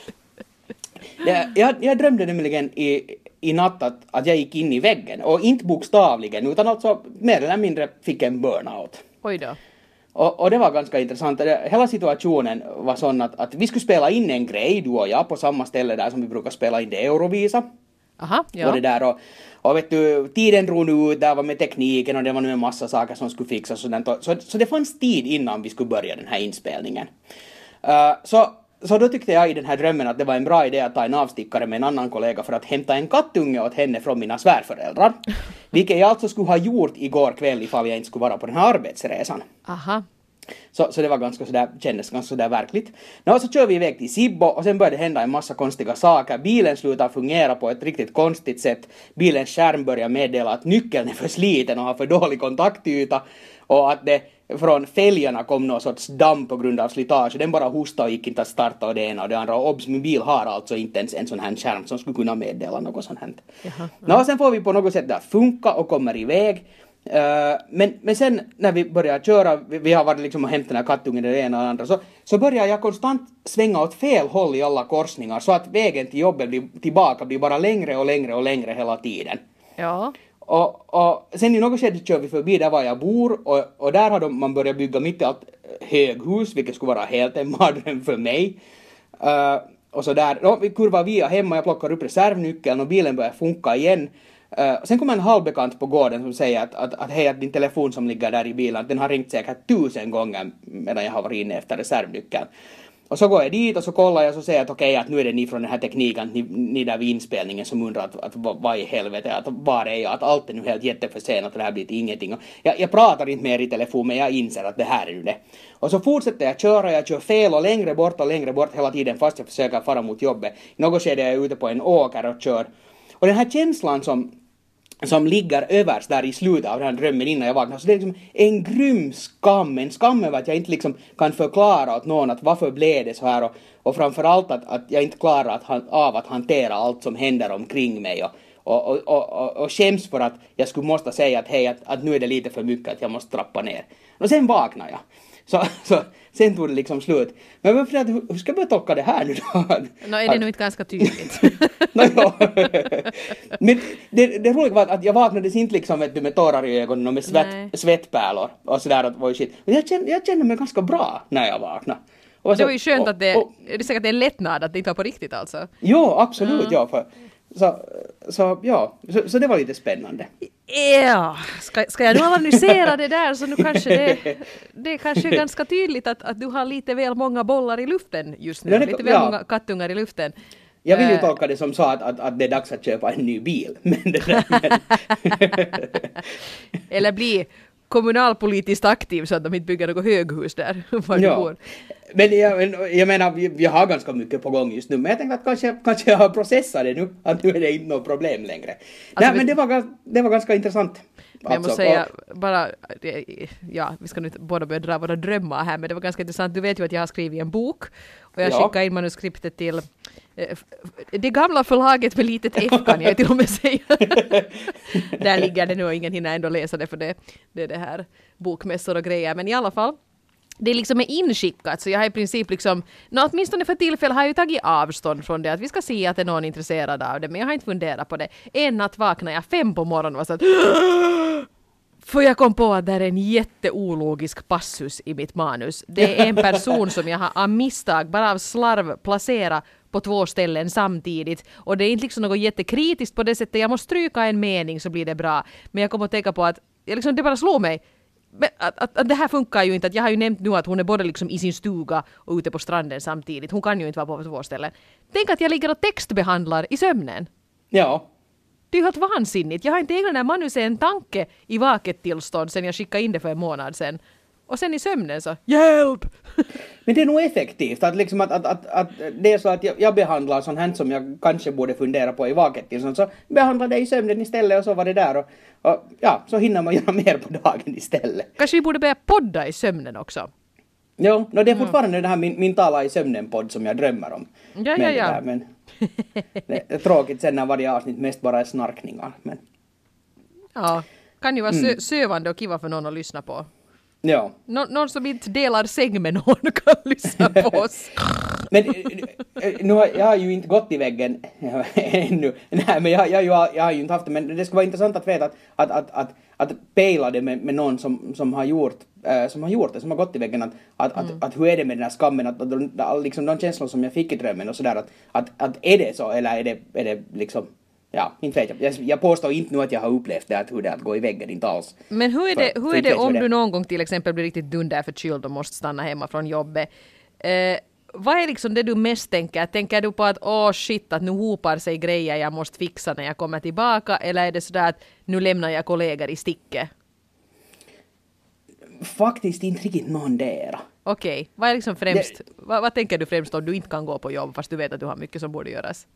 Jag, jag drömde nämligen i, i natt att, att jag gick in i väggen. Och inte bokstavligen, utan alltså mer eller mindre fick en burnout. Oj då. Och, och det var ganska intressant. Hela situationen var sån att, att vi skulle spela in en grej, du och jag, på samma ställe där som vi brukar spela in det Eurovisa. Aha, ja. Och det där och, och vet du, tiden drog nu ut, där var med tekniken och det var nu en massa saker som skulle fixas och sådant. Så, så det fanns tid innan vi skulle börja den här inspelningen. Uh, så, så då tyckte jag i den här drömmen att det var en bra idé att ta en avstickare med en annan kollega för att hämta en kattunge åt henne från mina svärföräldrar. Vilket jag alltså skulle ha gjort igår kväll ifall jag inte skulle vara på den här arbetsresan. Aha. Så, så det var ganska sådär, kändes ganska sådär verkligt. Nå, så kör vi iväg till Sibbo och sen började det hända en massa konstiga saker. Bilen slutar fungera på ett riktigt konstigt sätt. Bilens skärm börjar meddela att nyckeln är för sliten och har för dålig kontaktyta. Och att det från fälgarna kom någon sorts damm på grund av slitage. Den bara hostade och gick inte att starta och det ena och det andra. Och obs, min bil har alltså inte ens en sån här skärm som skulle kunna meddela något sånt här. Jaha, ja. Nå, sen får vi på något sätt att funka och kommer iväg. Uh, men, men sen när vi börjar köra, vi, vi har varit liksom och hämtat den här kattungen det ena och det andra, så, så börjar jag konstant svänga åt fel håll i alla korsningar så att vägen till jobbet blir, tillbaka blir bara längre och längre och längre hela tiden. Ja. Och, och sen i något skede kör vi förbi där var jag bor och, och där har de, man börjat bygga mitt i allt höghus, vilket skulle vara helt en mardröm för mig. Uh, och så där, då, vi kurvar via hemma, jag plockar upp reservnyckeln och bilen börjar funka igen. Uh, sen kommer en halvbekant på gården som säger att, att, att hej, att din telefon som ligger där i bilen, den har ringt säkert tusen gånger medan jag har varit inne efter reservnyckeln. Och så går jag dit och så kollar jag och så säger att okej, okay, att nu är det ni från den här tekniken, ni, ni där vid inspelningen som undrar att, att vad i helvete, att var är jag, att allt är nu helt jätteförsenat och det här blir till ingenting. Och jag, jag pratar inte mer i telefon, men jag inser att det här är nu det. Och så fortsätter jag köra, jag kör fel och längre bort och längre bort hela tiden fast jag försöker fara mot jobbet. I något skede är jag ute på en åker och kör. Och den här känslan som som ligger överst där i slutet av den här drömmen innan jag vaknar. Så det är liksom en grym skam. En skam över att jag inte liksom kan förklara åt någon att varför blev det så här. Och, och framförallt att, att jag inte klarar att, av att hantera allt som händer omkring mig. Och, och, och, och, och, och skäms för att jag skulle måste säga att hej, att, att nu är det lite för mycket att jag måste trappa ner. Och sen vaknar jag. Så, så sen tog det liksom slut. Men jag funderar, hur ska jag tolka det här nu då? Nå, är det nu inte ganska tydligt? no, ja. Men det, det roliga var att jag vaknades inte liksom vet du, med tårar i ögonen och med svett, svettpärlor och sådär. Att, var shit. Men jag kände, jag kände mig ganska bra när jag vaknade. Och så, det var ju skönt och, att det, och, det är säkert en lättnad att det inte var på riktigt alltså. Jo, absolut. Mm. Ja, för, så, så ja, så, så det var lite spännande. Ja, ska, ska jag nu analysera det där så nu kanske det, det är kanske ganska tydligt att, att du har lite väl många bollar i luften just nu, ja, det, lite väl ja. många kattungar i luften. Jag vill ju tolka det som så att, att, att det är dags att köpa en ny bil. Men det där, men... Eller bli kommunalpolitiskt aktiv så att de inte bygger något höghus där. Var Ja. du bor. Men jag, jag menar, vi, vi har ganska mycket på gång just nu. Men jag tänkte att kanske, kanske jag har processat det nu. Att nu är det inte något problem längre. Nej, vi- men det var, gans- det var ganska intressant. Men jag måste Alltså, säga, och- bara, det- ja, vi ska nu inte båda börja dra våra drömmar här, men det var ganska intressant. Du vet ju att jag har skrivit en bok och jag Ja. skickade in manuskriptet till eh, f- det gamla förlaget med litet F kan jag till och med säga. Där ligger det nu och ingen hinner ändå läsa det för det, det är det här bokmässor och grejer. Men i alla fall, det är liksom är inskickat så jag har i princip liksom, nå, åtminstone för tillfället har jag ju tagit avstånd från det att vi ska se att det är någon intresserad av det men jag har inte funderat på det. En natt vaknade jag fem på morgonen och var så att för jag kom på att det är en jätteologisk passus i mitt manus. Det är en person som jag har av misstag, bara av slarv, placerat på två ställen samtidigt. Och det är inte liksom något jättekritiskt på det sättet. Jag måste stryka en mening så blir det bra. Men jag kommer att tänka på att jag liksom, det bara slår mig. Men Att, att, att det här funkar ju inte. Att jag har ju nämnt nu att hon är både liksom i sin stuga och ute på stranden samtidigt. Hon kan ju inte vara på två ställen. Tänk att jag ligger och textbehandlar i sömnen. Ja. Det är ju helt vansinnigt. Jag har inte ägnat den här manuset en tanke i vaket tillstånd sen jag skickade in det för en månad sen. Och sen i sömnen så, hjälp! Men det är nog effektivt att, liksom att, att, att, att det är så att jag, jag behandlar sånt här som jag kanske borde fundera på i vaket till sånt, så behandlar det i sömnen istället och så var det där och, och ja, så hinner man göra mer på dagen istället. Kanske vi borde börja podda i sömnen också. Jo, no, det är fortfarande det här min, min tala i sömnen-podd som jag drömmer om. Ja, men ja, det ja. där, men det är tråkigt sen när varje avsnitt mest bara är snarkningar. Men Ja, kan ju vara sö- sövande och kiva för någon att lyssna på. ja. Nå- någon som inte delar säng med någon kan lyssna på oss. Men eh, nu har, jag har ju inte gått i väggen ännu. Nej, men jag, jag, jag, jag har ju inte haft det. Men det skulle vara intressant att veta att, att, att, att, att pejla det med, med någon som, som, har gjort, äh, som har gjort det, som har gått i väggen. Att, att, mm. att, att hur är det med den här skammen? Att, att, att, liksom de känslor som jag fick i drömmen och sådär. Att, att, att är det så eller är det, är det liksom... Ja, inte vet jag. jag. Jag påstår inte nu att jag har upplevt det, att hur det är att gå i väggen, inte alls. Men hur är det, För- hur för är inte det vet jag om hur du någon gång till exempel blir riktigt dunderförkyld och måste stanna hemma från jobbet? Eh, vad är liksom det du mest tänker? Tänker du på att åh oh shit, att nu hopar sig grejer jag måste fixa när jag kommer tillbaka? Eller är det sådär att nu lämnar jag kollegor i sticket? Faktiskt inte riktigt någondera. Okej, okay. Vad är liksom främst, vad, vad tänker du främst om du inte kan gå på jobb fast du vet att du har mycket som borde göras?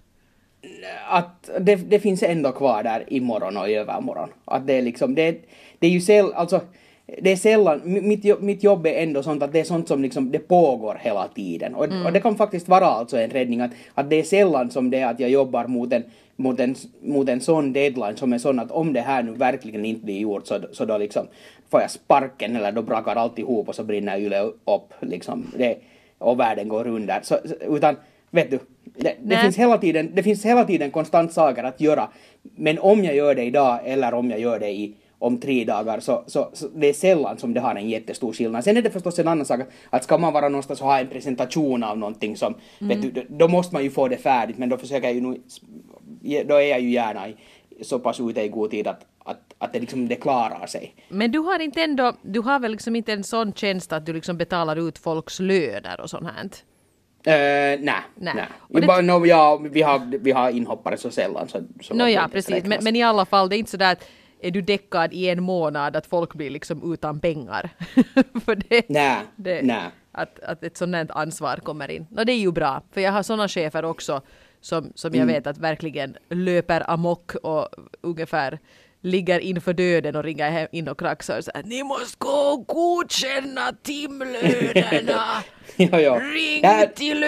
Att det, det finns ändå kvar där imorgon och i övermorgon. Att det är liksom, det, det är ju säll, alltså, det är sällan, mitt, jobb- mitt jobb är ändå sånt att det är sånt som liksom, det pågår hela tiden. Och, mm. och det kan faktiskt vara alltså en räddning att, att det är sällan som det är att jag jobbar mot en, mot en, mot en sån deadline som är sån att om det här nu verkligen inte blir gjort så, så då liksom får jag sparken eller då brakar alltihop och så brinner Yle upp liksom. Det, och världen går under. Så, utan vet du, det, det, finns hela tiden, det finns hela tiden konstant saker att göra. Men om jag gör det idag eller om jag gör det i, om tre dagar så, så, så det är sällan som det har en jättestor skillnad. Sen är det förstås en annan sak att ska man vara någonstans och ha en presentation av någonting som, mm. vet du, då måste man ju få det färdigt. Men då försöker jag ju nu, då är jag ju gärna i, så pass ute i god tid att, att, att det liksom det klarar sig. Men du har inte ändå, du har väl liksom inte en sån tjänst att du liksom betalar ut folks löner och sånt här? Uh, nej, nej. nej. Och det... bara, no, ja, vi, har, vi har inhoppare så sällan. Så, så no, ja, precis. Men, men i alla fall, det är inte så där att är du däckad i en månad att folk blir liksom utan pengar. för det, nej, det, nej. Att, att ett sådant här ansvar kommer in. No, det är ju bra, för jag har sådana chefer också som, som jag Mm. vet att verkligen löper amok och ungefär ligger inför döden och ringer hem in och kraxar och säger ni måste gå och godkänna timlönerna. jo, jo. Ring Ja, till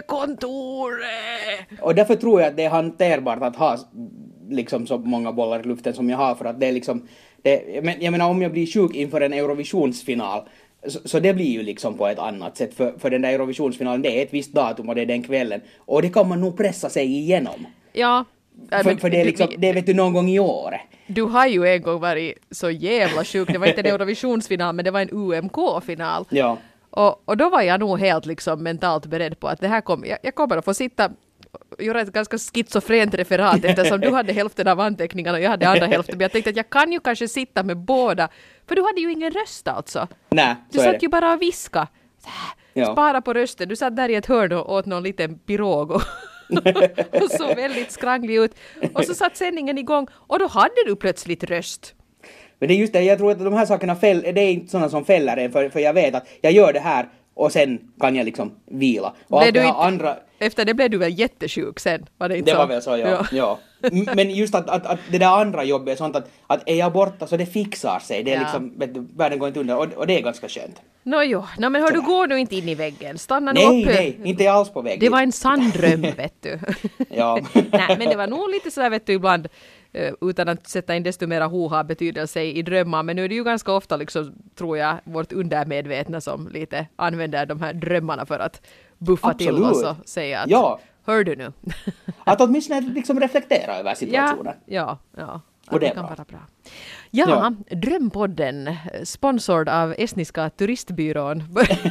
lönekontoret. och därför tror jag att det är hanterbart att ha liksom så många bollar i luften som jag har för att det är liksom det, men jag menar om jag blir sjuk inför en Eurovisionsfinal så, så det blir ju liksom på ett annat sätt för, för den där Eurovisionsfinalen det är ett visst datum och det är den kvällen och det kan man nog pressa sig igenom. Ja. För, men för det är du- liksom, det vet du någon gång i år. Du har ju en gång varit så jävla sjuk. Det var inte en Eurovisionsfinal men det var en U M K-final. Ja. Och, och då var jag nog helt liksom mentalt beredd på att det här kom, jag, jag kommer att få sitta och göra ett ganska schizofrent referat eftersom du hade hälften av anteckningarna och jag hade andra hälften. Men jag tänkte att jag kan ju kanske sitta med båda. För du hade ju ingen röst alltså. Nej, Du så är satt det. ju bara och viska. Så här, Ja. Spara på rösten. Du satt där i ett hörn och åt någon liten pirog och, och så väldigt skranglig ut. Och så satt sändningen igång och då hade du plötsligt röst. Men det är just det, jag tror att de här sakerna fäll, det är inte sådana som fäller en, för, för jag vet att jag gör det här och sen kan jag liksom vila. Och allt det här inte, andra... Efter det blev du väl jättesjuk sen? Var det inte det så? var väl så, ja. ja. ja. Men just att, att, att det där andra jobbet är sånt att, att är jag borta så det fixar sig. Det är ja. liksom, vet du, världen går inte under och, och det är ganska skönt. Nå jo, no, men hör du går nu inte in i väggen. Stanna nu Nej, uppe. nej, inte alls på väggen. Det var en sann dröm, vet du. ja. Nej, men det var nog lite sådär, vet du, ibland utan att sätta in desto mera hoha betydelse i drömmar. Men nu är det ju ganska ofta, liksom, tror jag, vårt undermedvetna som lite använder de här drömmarna för att buffa Absolut. till oss och säga att ja. hör du nu? Att åtminstone liksom reflektera över situationen. Ja, ja, ja. Och det, det är kan bra. vara bra. Ja, ja, Drömpodden, sponsrad av estniska turistbyrån.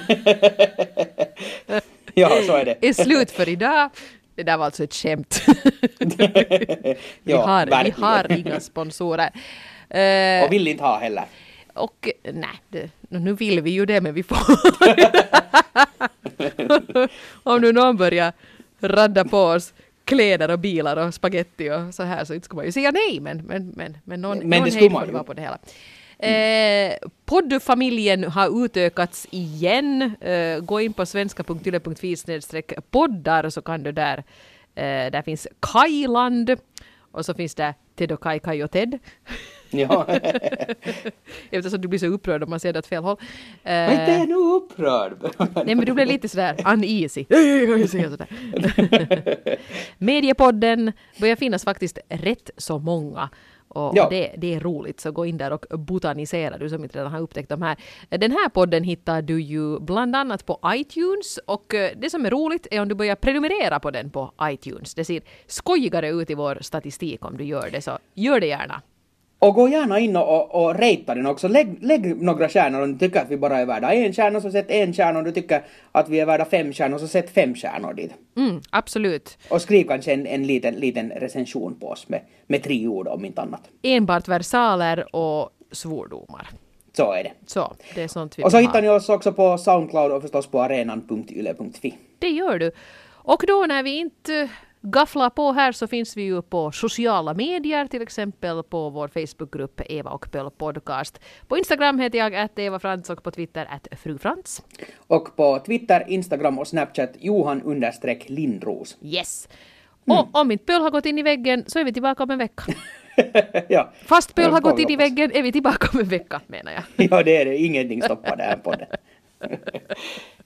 ja, så är det. är slut för idag. Det där var alltså ett skämt. vi, ja, har, vi har inga sponsorer. Uh, och vill inte ha heller. Och nej, det, nu vill vi ju det, men vi får... Om nu någon börjar radda på oss kläder och bilar och spaghetti och så här, så inte ska man ju säga nej, men, men, men, men någon, men någon det hejd man får det ju. vara på det hela. Eh, poddfamiljen har utökats igen. Eh, gå in på svenska punkt yle punkt fi snedstreck poddar så kan du där. Eh, där finns Kajland och så finns det Ted och Kaj, Kaj och Ted. Ja. Eftersom du blir så upprörd om man ser det åt fel håll. Eh, Men inte är nu upprörd. nej, men du blev lite sådär uneasy. sådär. Mediepodden börjar finnas faktiskt rätt så många. Och, ja. och det, det är roligt, så gå in där och botanisera, du som inte redan har upptäckt de här. Den här podden hittar du ju bland annat på iTunes, och det som är roligt är om du börjar prenumerera på den på iTunes. Det ser skojigare ut i vår statistik om du gör det, så gör det gärna. Och gå gärna in och, och, och rejta den också. Lägg, lägg några stjärnor om du tycker att vi bara är värda en stjärna, så sätt en stjärna. Om du tycker att vi är värda fem stjärnor, så sätt fem stjärnor dit. Mm, absolut. Och skriv kanske en, en liten, liten recension på oss med, med tre ord om inte annat. Enbart versaler och svordomar. Så är det. Så, det är sånt vi Och så vill hittar ha. ni oss också på Soundcloud och förstås på arenan punkt yle punkt fi. Det gör du. Och då när vi inte gafflar på här, så finns vi ju på sociala medier, till exempel på vår Facebookgrupp Eva och Pöl podcast. På Instagram heter jag att Eva Frans och på Twitter att Fru Frans. Och på Twitter, Instagram och Snapchat Johan understreck Lindros. Yes. Mm. Och om inte Pöl har gått in i väggen så är vi tillbaka om en vecka. ja. Fast Pöl har får gått vi in i hoppas. väggen är vi tillbaka om en vecka, menar jag. ja, det är det. Ingenting stoppar det här podden.